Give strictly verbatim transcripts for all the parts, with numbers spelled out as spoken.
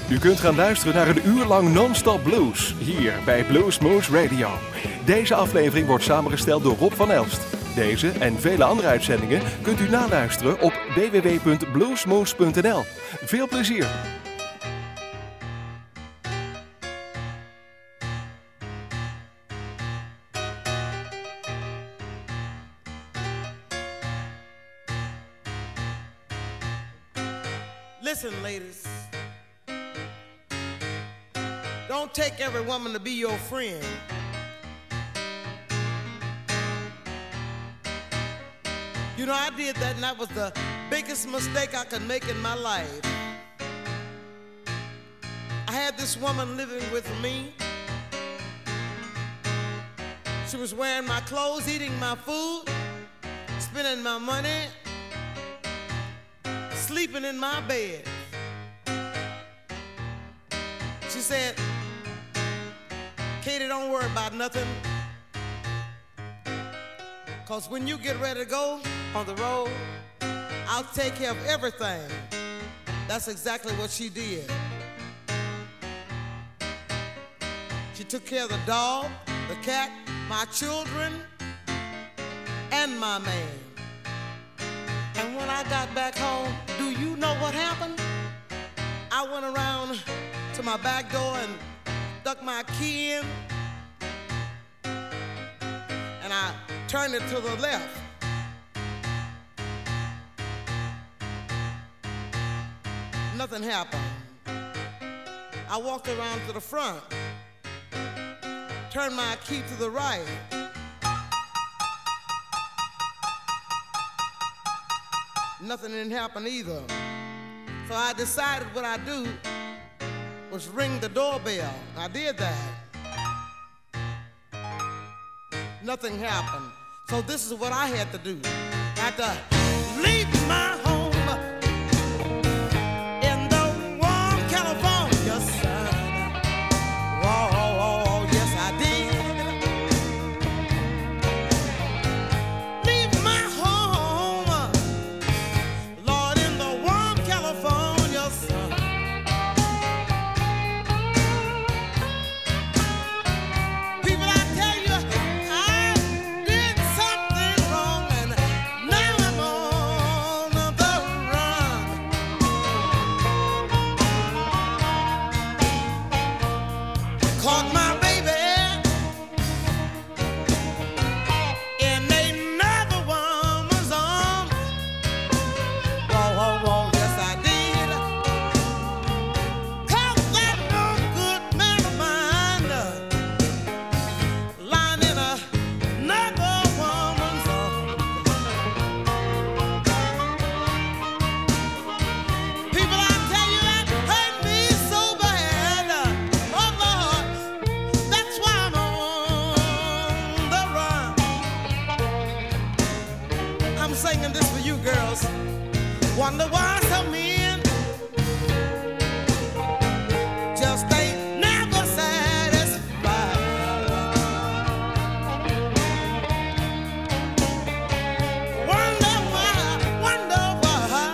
U kunt gaan luisteren naar een uur lang non-stop blues, hier bij Bluesmoose Radio. Deze aflevering wordt samengesteld door Rob van Elst. Deze en vele andere uitzendingen kunt u naluisteren op w w w punt bluesmoose punt n l. Veel plezier! Listen, ladies, don't take every woman to be your friend. You know, I did that, and that was the biggest mistake I could make in my life. I had this woman living with me. She was wearing my clothes, eating my food, spending my money, sleeping in my bed. She said, Katie, don't worry about nothing, because when you get ready to go on the road, I'll take care of everything. That's exactly what she did. She took care of the dog, the cat, my children, and my man. And when I got back home, do you know what happened? I went around to my back door and stuck my key in, and I turned it to the left. Nothing happened. I walked around to the front, turned my key to the right. Nothing didn't happen either. So I decided what I'd do was ring the doorbell. I did that. Nothing happened. So this is what I had to do. I had to leave my home in the warm California sun. Oh, oh, oh, yes I did. Leave my home, Lord, in the warm California sun. People, I tell you, I did something wrong, and now I'm on the run. Caught my baby in another woman's arms. Whoa, whoa, whoa, yes I did. Caught that no good man of mine lying in another woman's arms. People, I tell you, that hurt me so bad. Oh Lord, that's why I'm on the run. I'm singing this for you girls. Wonder why some men just ain't never satisfied. Wonder why, wonder why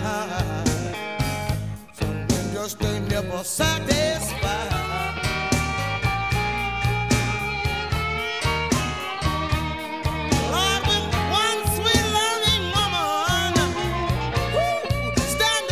some men just ain't never satisfied. Lord, with one sweet loving woman, woo, stand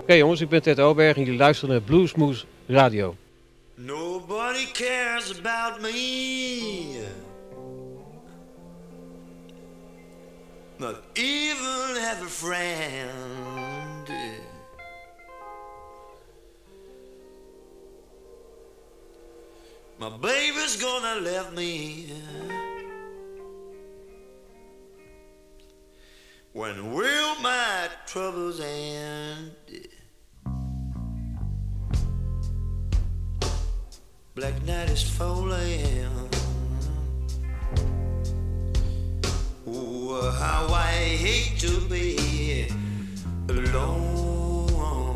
Oké jongens, ik ben Ted Oberg en jullie luisteren naar Bluesmoose Radio. Nobody cares about me, not even have a friend. My baby's gonna leave me. When will my troubles end? Black night is falling. Oh, how I hate to be alone.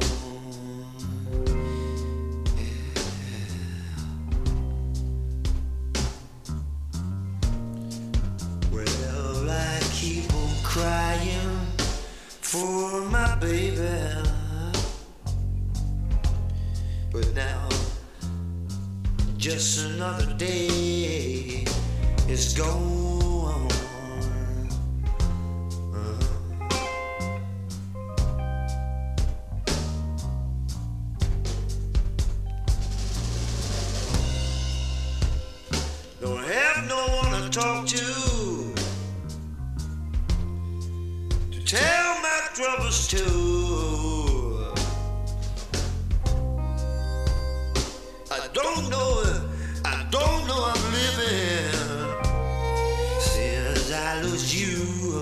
Well, I keep on crying for my baby, but now just another day is gone. Uh-huh. Don't have no one to talk to, to tell my troubles to. I don't know, I don't know I'm living since I lose you.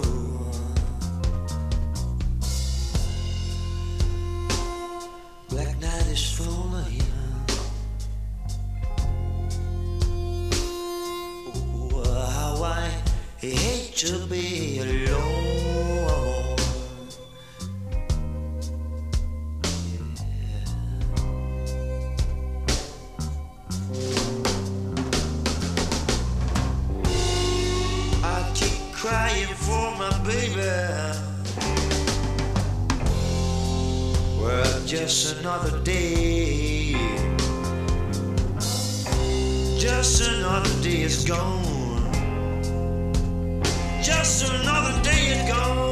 Black night is falling. Oh, how I hate to be alone. Crying for my baby. Well, just another day, just another day is gone. Just another day is gone.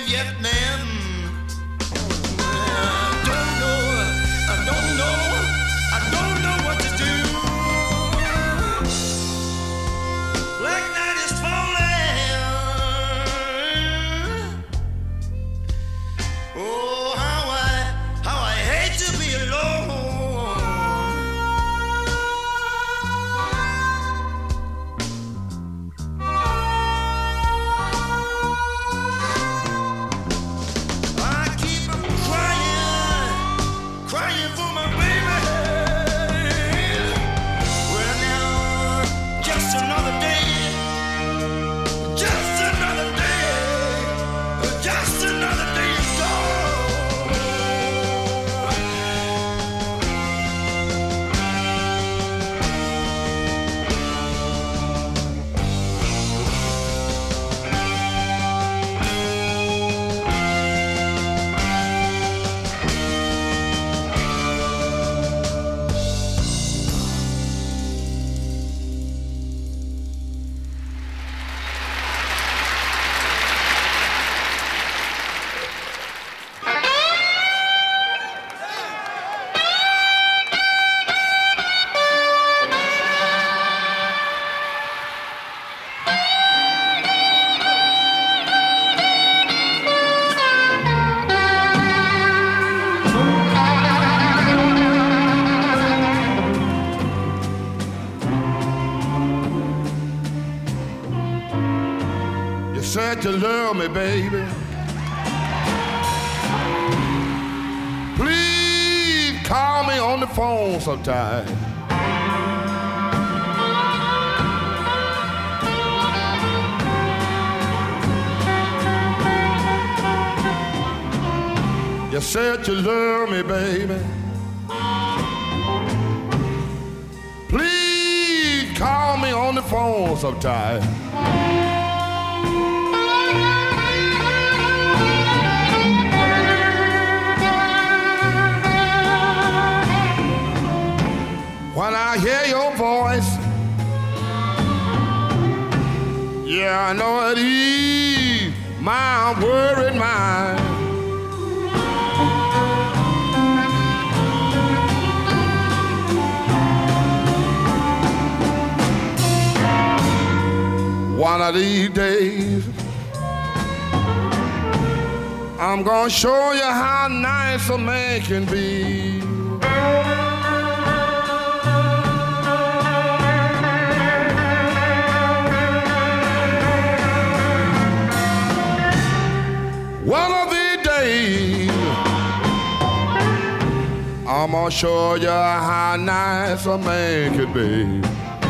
Vietnam. I don't know, I don't know, I don't know what to do. Black night is falling. Oh, how I, how I hate to be alone. Said you love me, baby. Please call me on the phone sometime. You said you love me, baby. Please call me on the phone sometime. When I hear your voice, yeah, I know it ease my worried mind. One of these days, I'm gonna show you how nice a man can be. One of these days, I'm gonna show you how nice a man could be.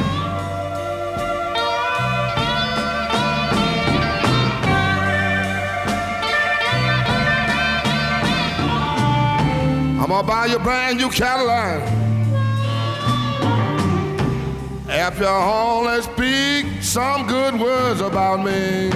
I'm gonna buy you a brand new Cadillac. If you only speak some good words about me.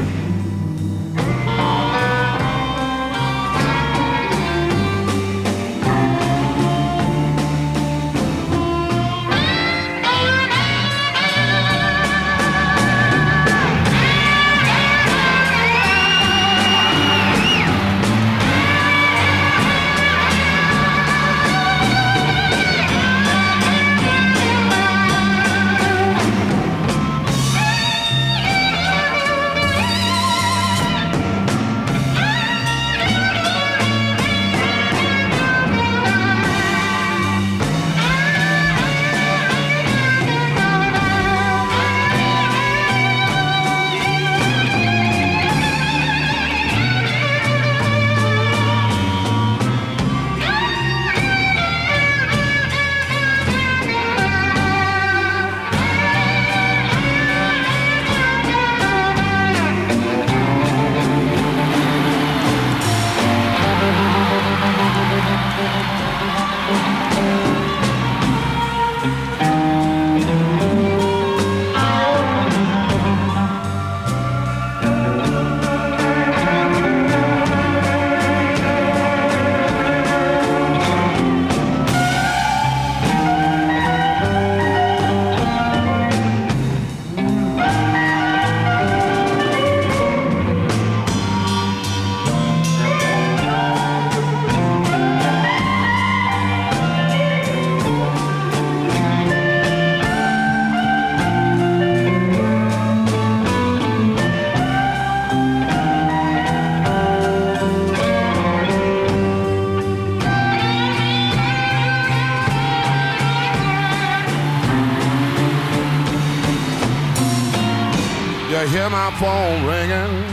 my phone ringing,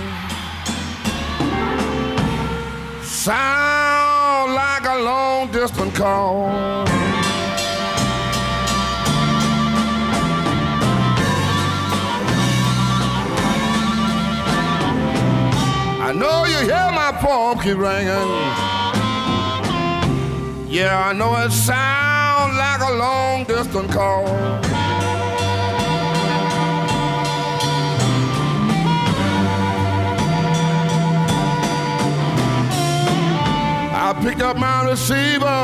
sound like a long distance call. I know you hear my phone keep ringing. Yeah, I know it sounds like a long distance call. I picked up my receiver.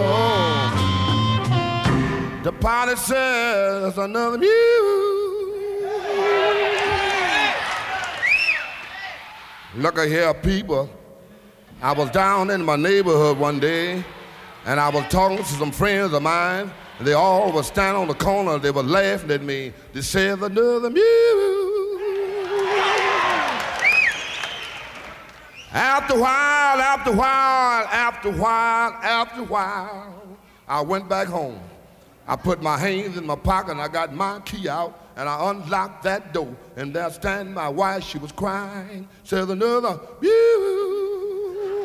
The pilot says another mute. Look at here, people. I was down in my neighborhood one day, and I was talking to some friends of mine, and they all were standing on the corner. They were laughing at me. They said another mute. After a while, after a while, after a while, after a while, I went back home. I put my hands in my pocket, and I got my key out, and I unlocked that door, and there standing my wife, she was crying, says another, you.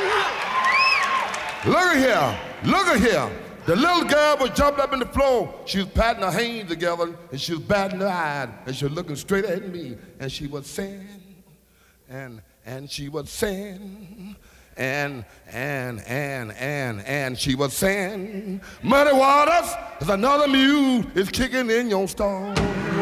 Look at here, look at here. The little girl was jumped up in the floor. She was patting her hands together, and she was batting her eyes, and she was looking straight at me, and she was saying, and, and she was saying, and, and, and, and, and she was saying, Muddy Waters, there's another mule is kicking in your stall.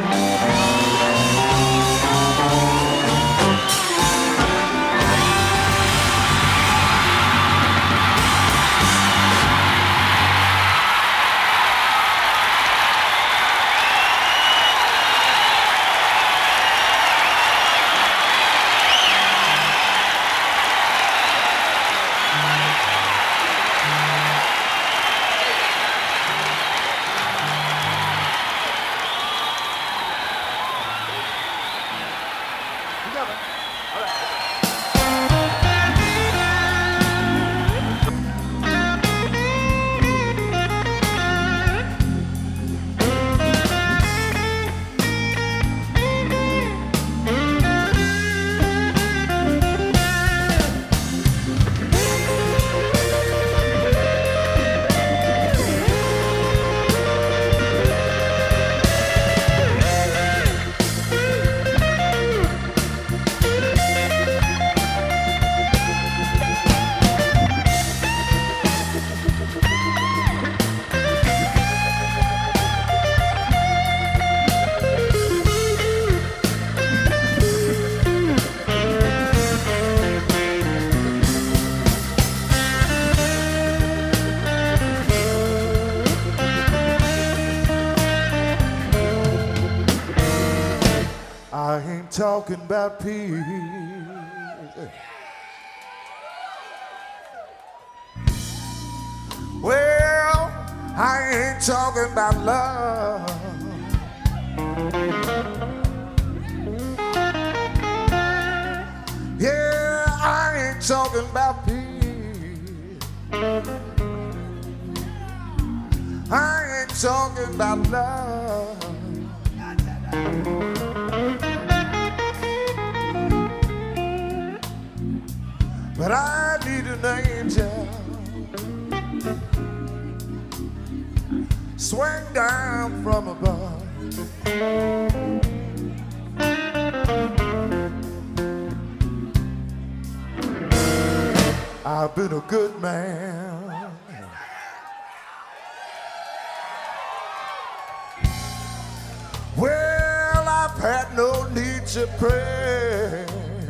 Talking about peace. Well, I ain't talking about love. Yeah, I ain't talking about peace. I ain't talking about love. But I need an angel swing down from above. I've been a good man. Well, I've had no need to pray.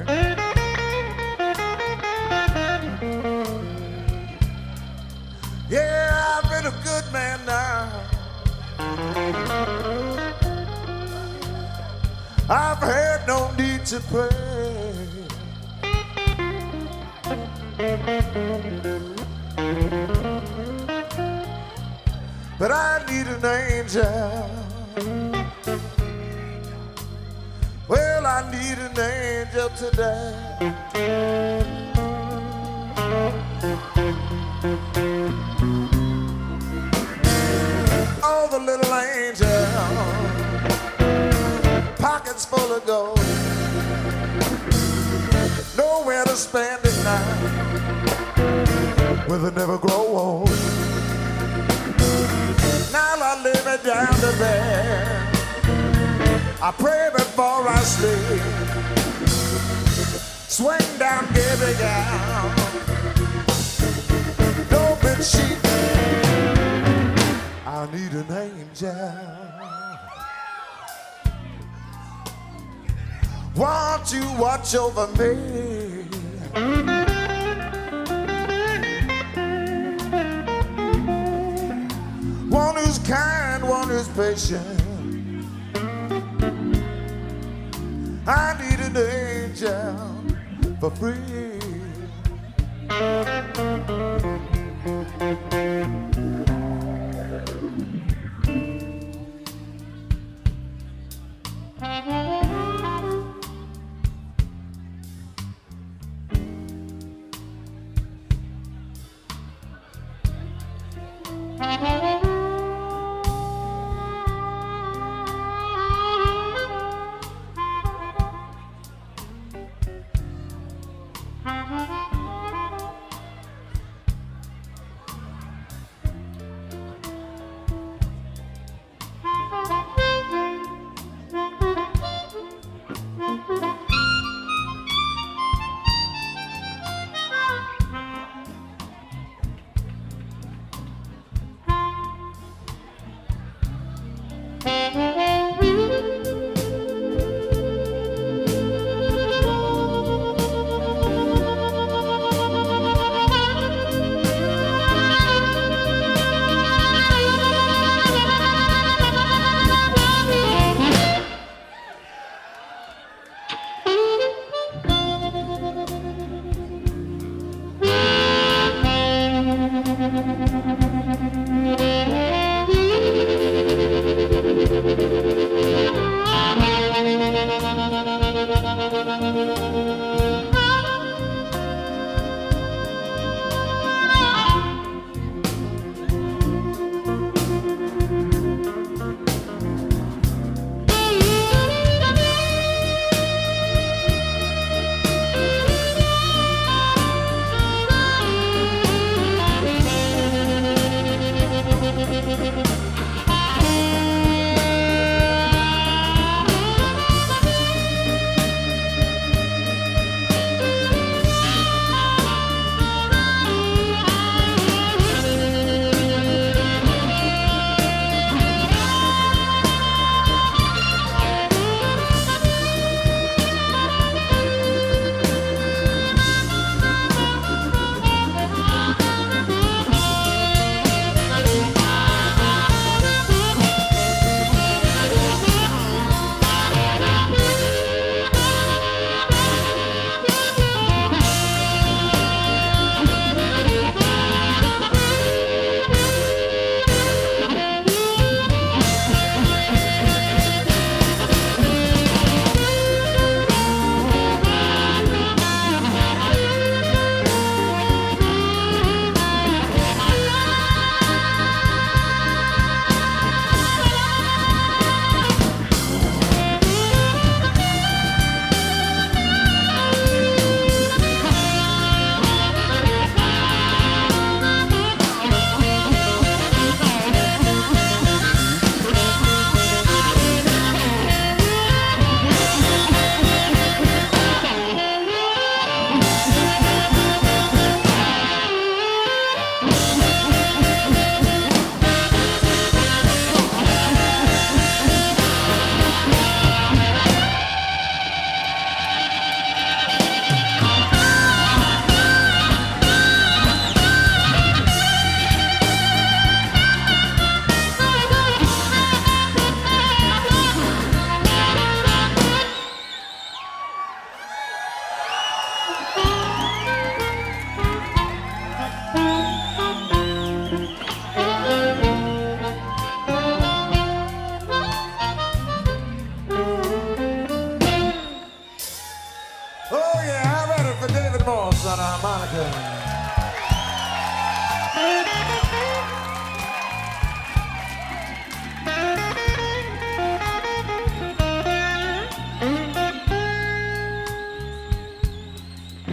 Yeah, I've been a good man now. I've had no need to pray. But I need an angel. Well, I need an angel today. Oh, the little angel, pockets full of gold. to spend the night with a never grow old. Now I lay me down to bed, I pray before I sleep, swing down, give it down, no bed sheet. I need an angel. Won't you watch over me? One who's kind, one who's patient. I need an angel for free.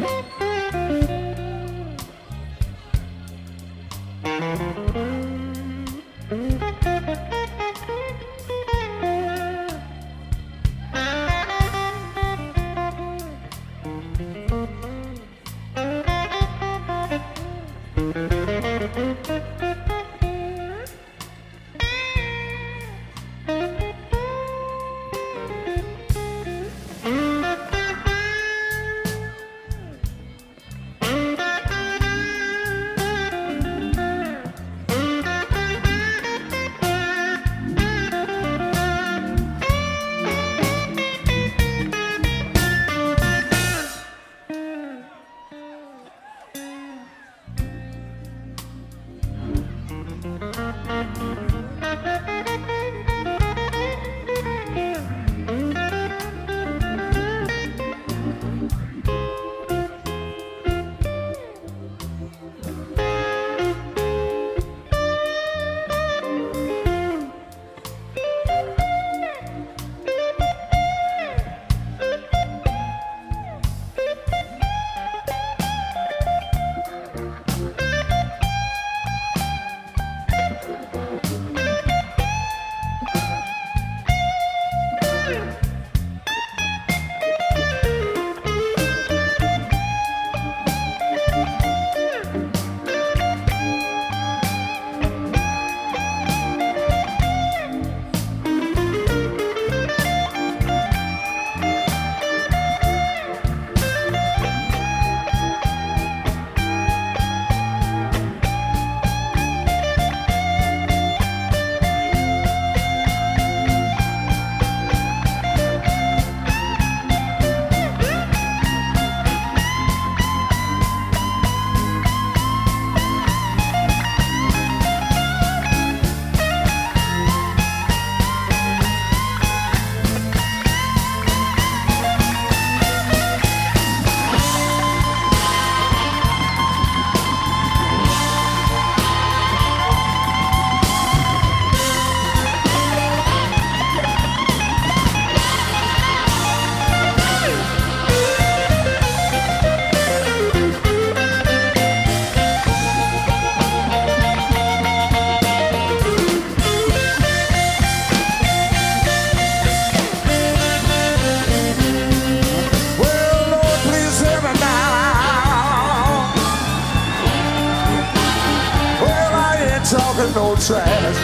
no trash.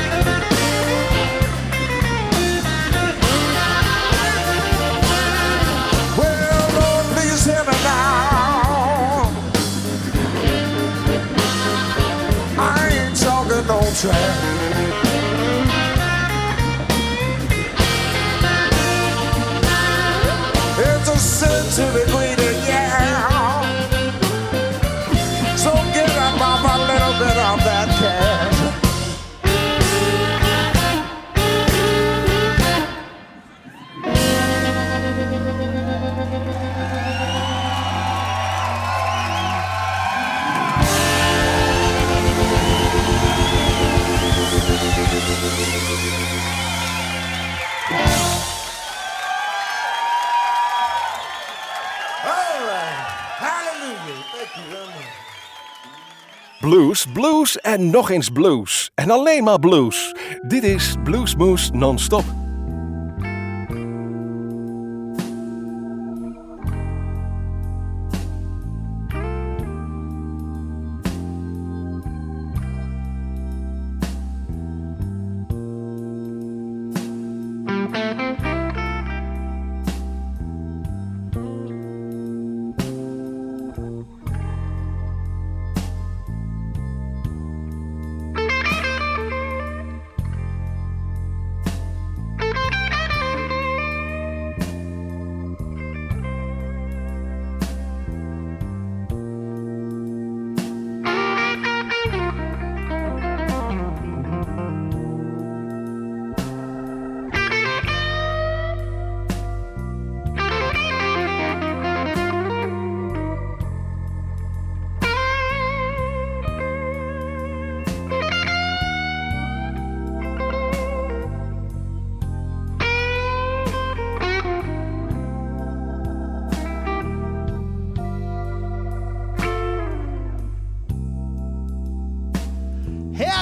Well, Lord, please hear me now. I ain't talking no trash. It's a sin to be greedy, yeah. So give up a little bit of that cash. Blues, blues en nog eens blues. En alleen maar blues. Dit is Bluesmoose non-stop.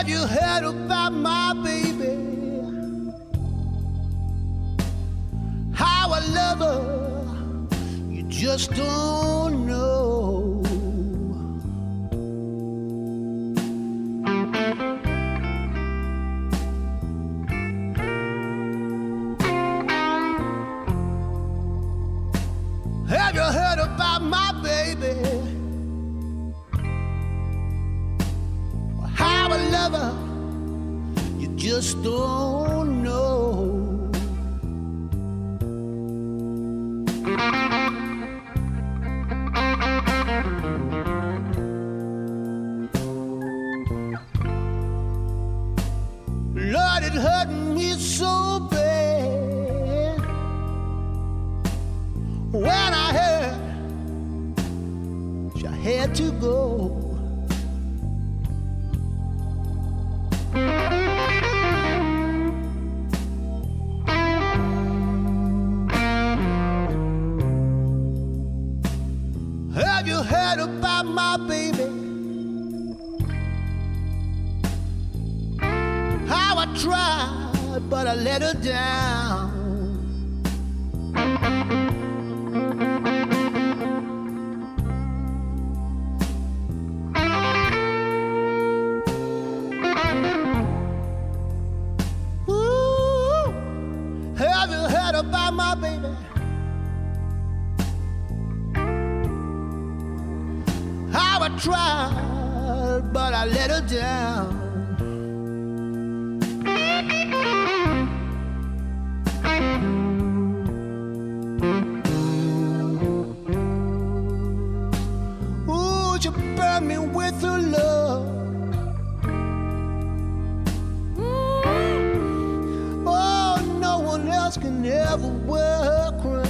Have you heard about my baby? How I love her, you just don't know. Have you heard about my baby? How I love her, you just don't know. Lord, it hurt me so bad when I heard she had to go. Have you heard about my baby? How I tried, but I let her down. Ooh, have you heard about my baby? How I tried, but I let her down. Ooh, you burn me with her love. Mm. Oh, no one else can ever wear her crown.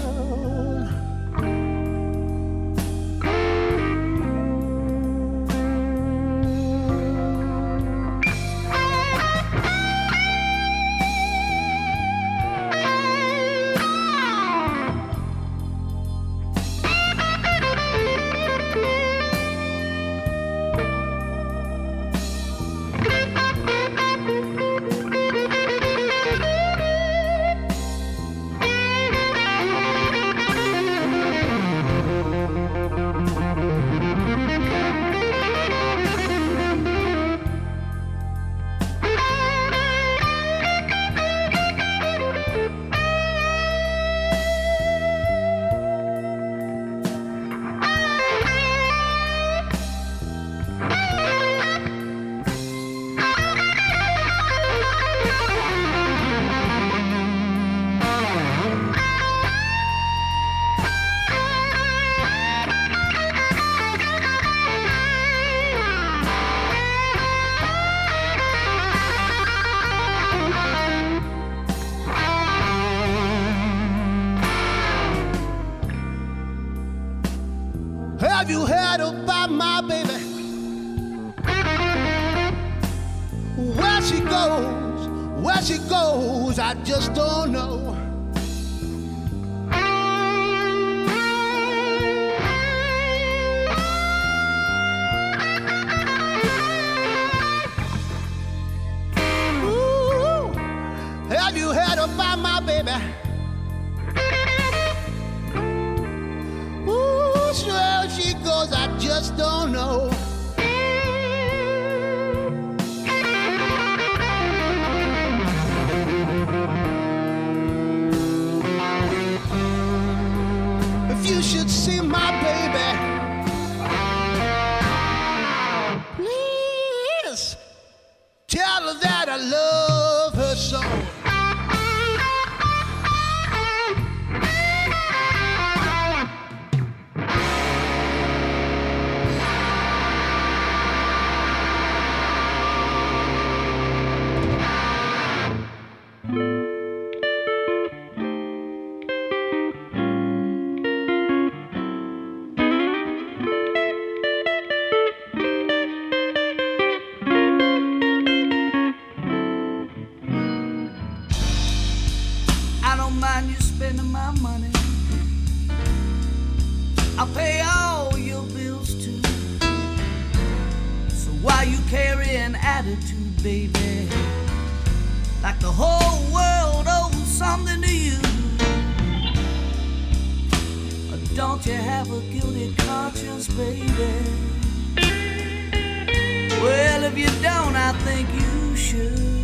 Have you heard about my baby? Where she goes, where she goes, I just don't know. Ooh, have you heard about my baby? Where she goes, I just don't know. If you should see my baby, please tell her that I love her so. I'll pay all your bills too. So why you carry an attitude, baby, like the whole world owes something to you. Don't you have a guilty conscience, baby? Well, if you don't, I think you should.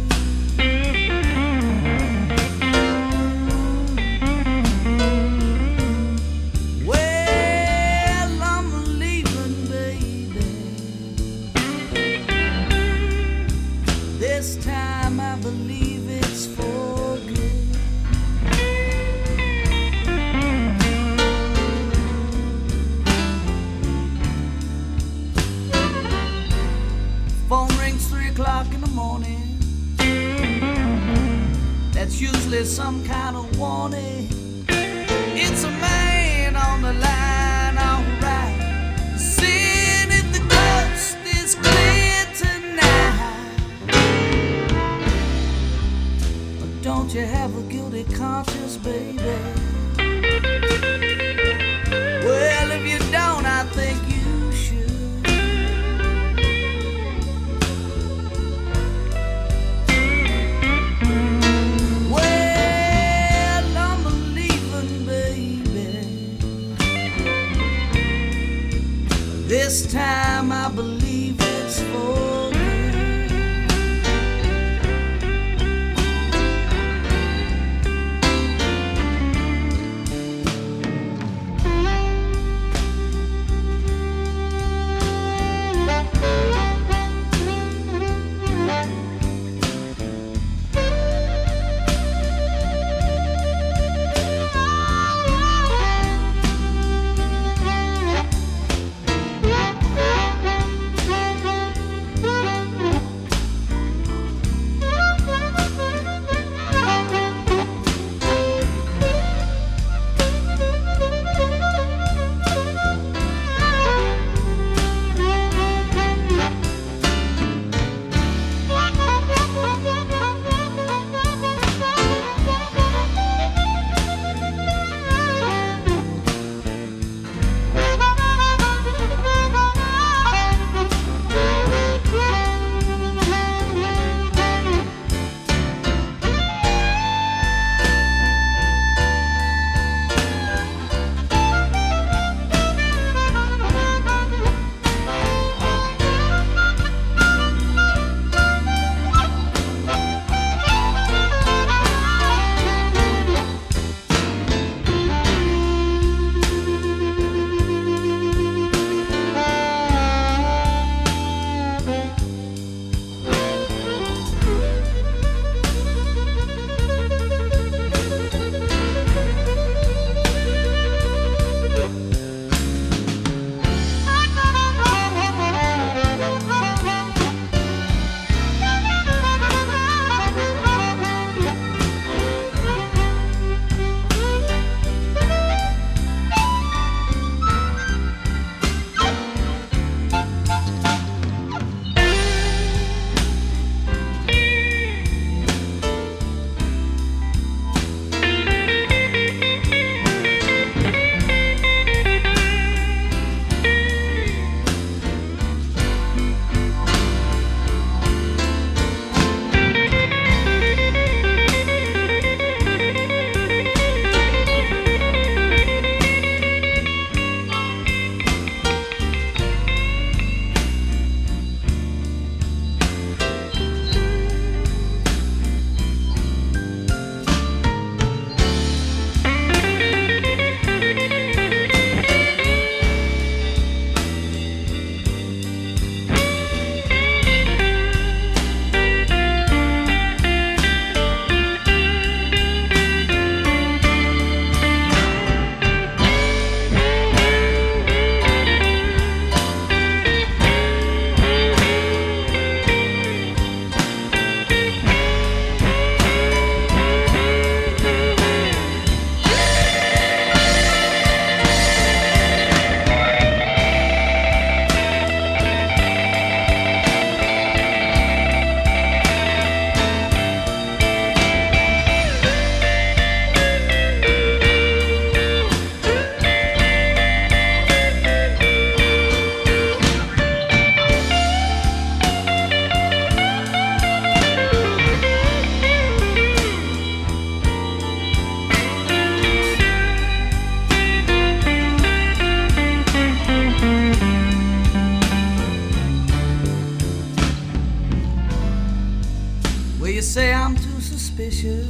Well, I'm leaving, baby. This time I believe it's for good. Phone rings three o'clock in the morning. That's usually some kind of warning. It's a man on the line, alright. Seeing if the coast is clear tonight. But don't you have a guilty conscience, baby? Well, if you don't, I think you this time I believe it's for Thank you. suspicious.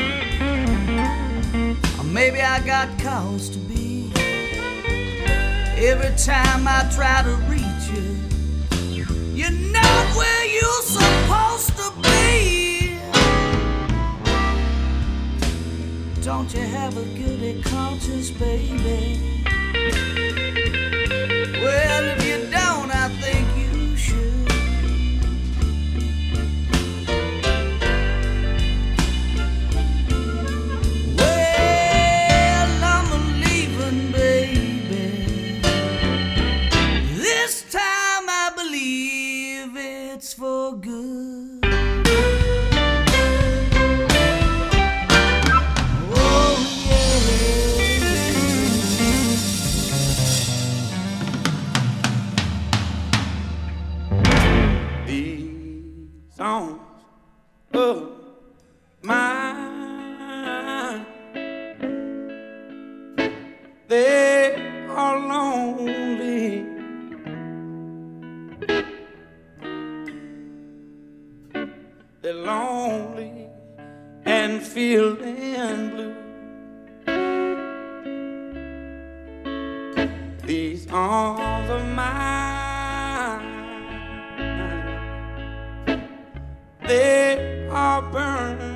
Or maybe I got cause to be. Every time I try to reach you, you're not where you're supposed to be. Don't you have a guilty conscience, baby? Well, if you don't, I think you should. Well, I'm a leaving, baby. This time I believe it's for good. Songs of mine, they are lonely. They're lonely and feeling blue. These arms of mine, they are burning.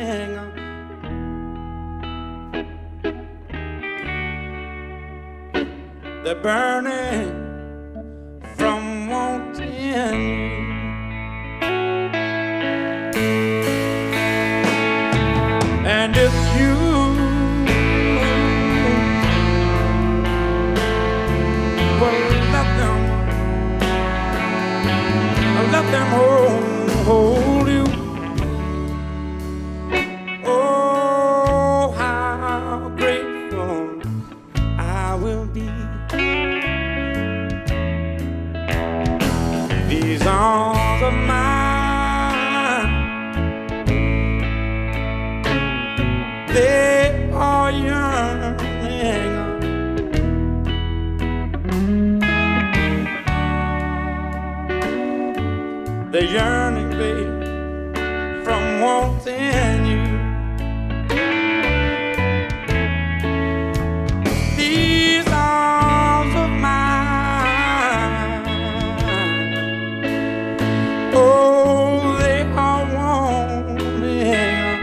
They're burning from wanting you. And if you will let them, let them hold, hold you. Oh, how grateful I will be. These arms of mine, they are yearning. They're yearning, babe, from wanting you. These arms of mine, oh, they are wanting.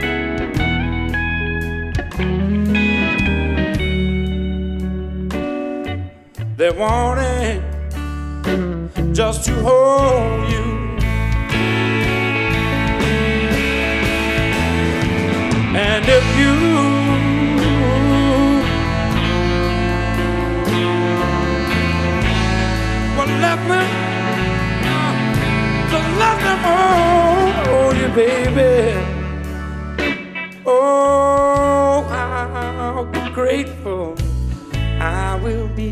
They're wanting just to hold you. And if you will let me, just let them hold you, baby. Oh, how grateful I will be.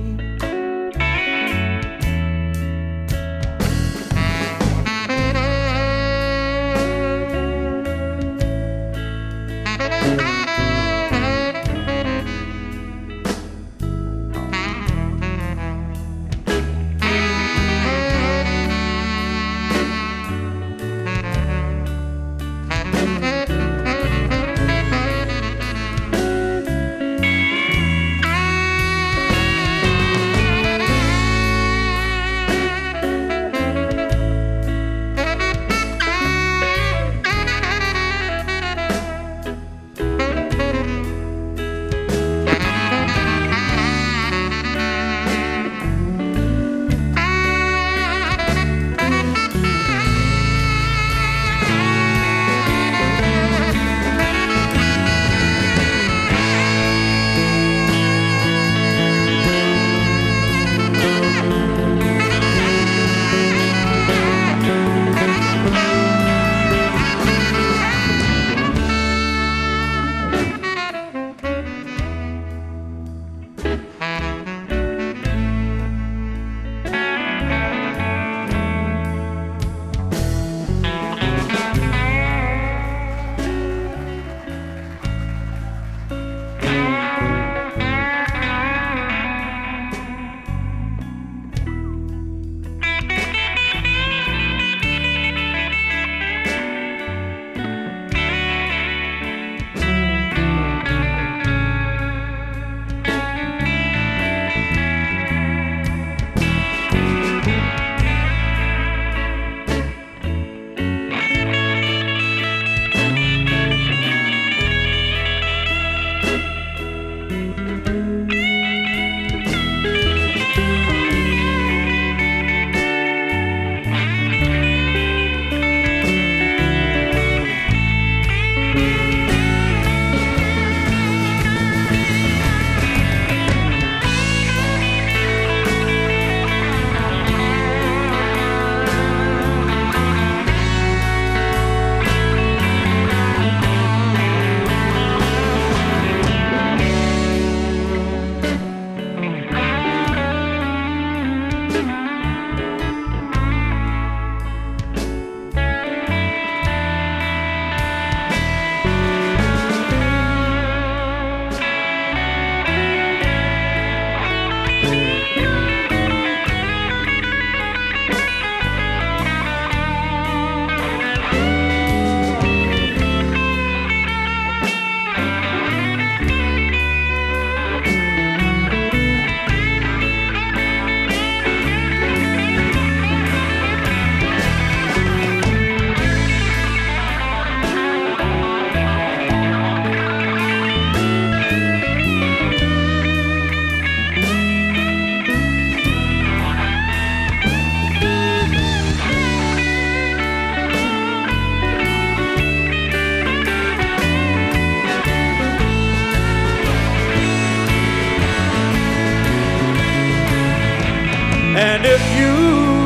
And if you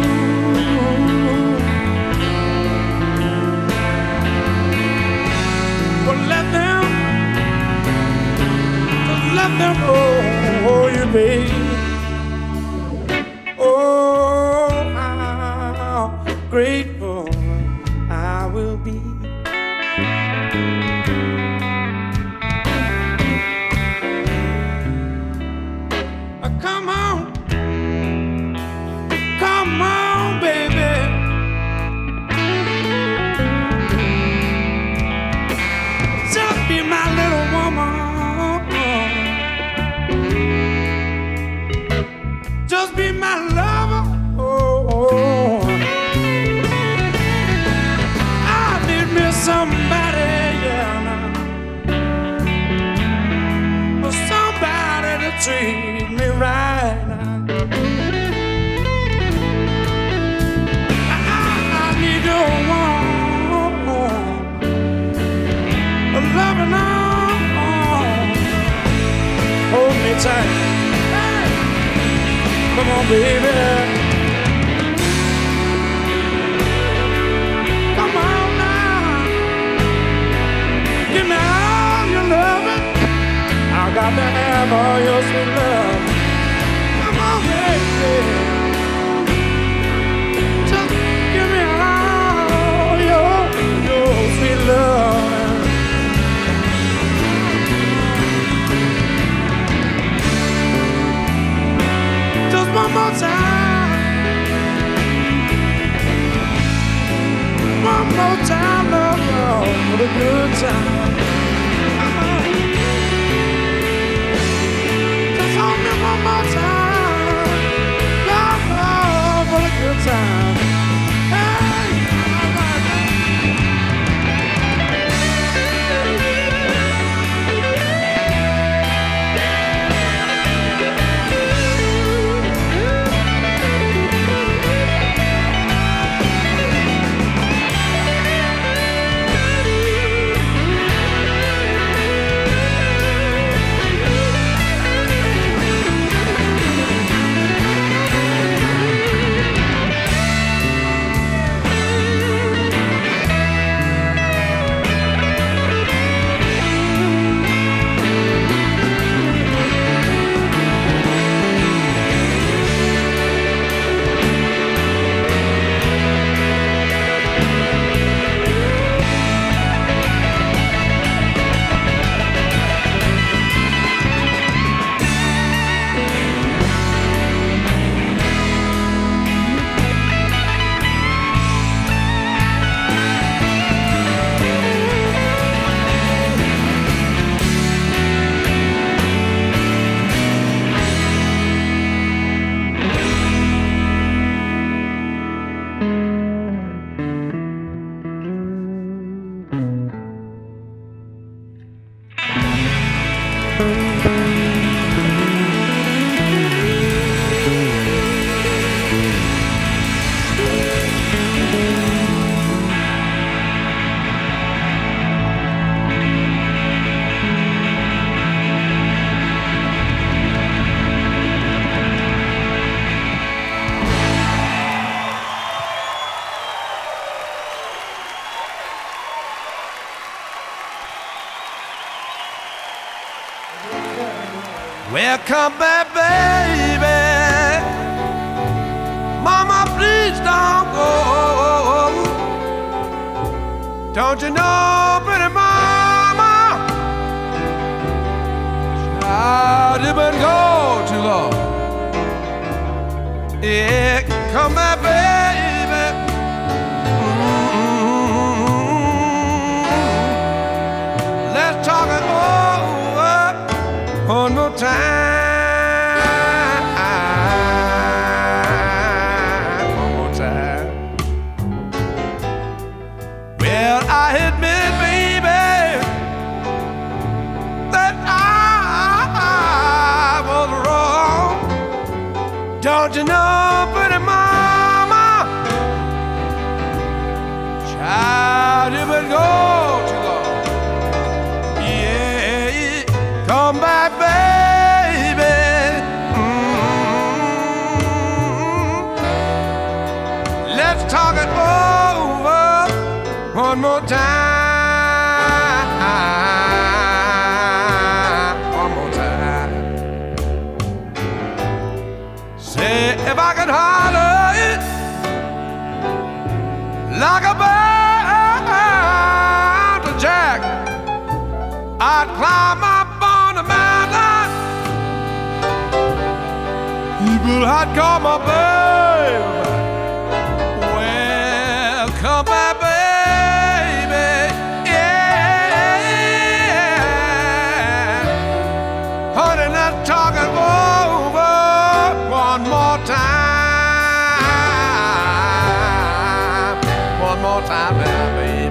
will let them, just let them hold you, baby. Oh, how grateful I will be. Come on, come on, baby. Just be my little woman. Just be my lover. Oh, oh. I need me somebody, yeah, now. Somebody to treat me right now. I, I need your warm, a loving arm. Hold me tight. Hey, come on, baby. Come on now. Give me all your loving. I got to have all your sweet love. Come on, baby. Just give me all your, your sweet love. Just one more time. One more time, love, love, for the good time. Come on. Hold me one more time, love, love, for a good time. Hey, Well, come back, baby. Mama, please don't go. Don't you know, pretty mama, child, you been gone too long. Yeah, come back, baby. Mm-hmm. Let's talk it over one more time. Don't you know, pretty mama, child, you been gone too long. Yeah, come back, baby. Mm-hmm. let's talk it over one more time. One more time. Say if I could holler it like a mountain jack, I'd climb up on the mountain. People, I'd call my baby. Well, come back, baby. Yeah. Honey, let's talk it over one more time. One more time, baby.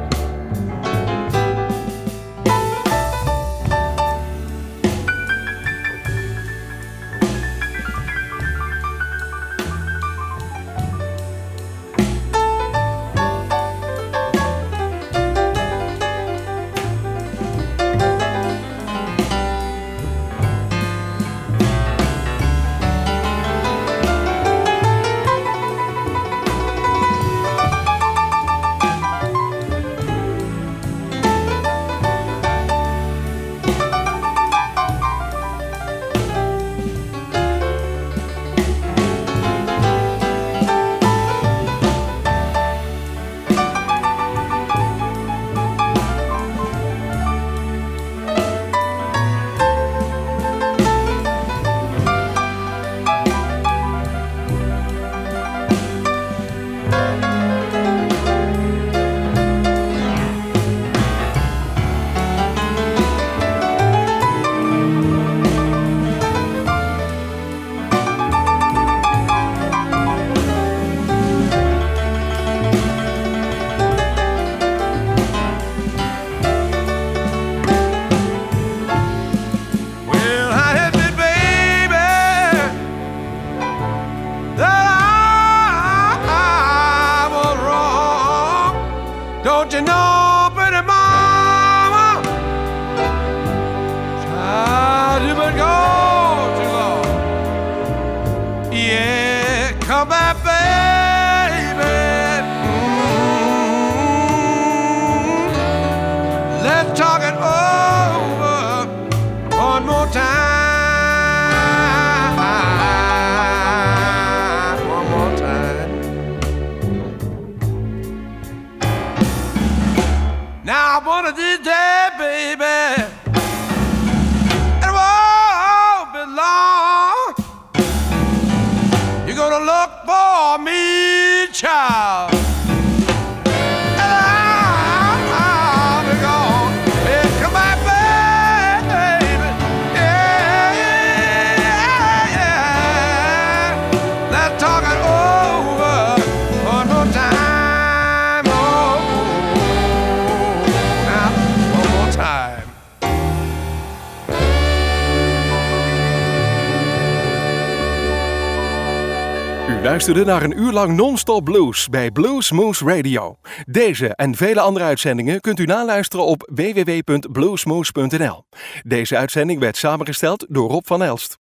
Don't you know, pretty mama, child, you've been gone too long. Yeah, come back, baby. Mm-hmm. Let's talk it over one more time. One more time. Now one of these days, baby, it won't be long. You're gonna look for me, child. And I'll be gone. Hey, come back, baby. Yeah, yeah, yeah. Let's talk it over one more time. U luisterde naar een uur lang non-stop blues bij Blues Moose Radio. Deze en vele andere uitzendingen kunt u naluisteren op w w w punt bluesmoose punt n l. Deze uitzending werd samengesteld door Rob van Elst.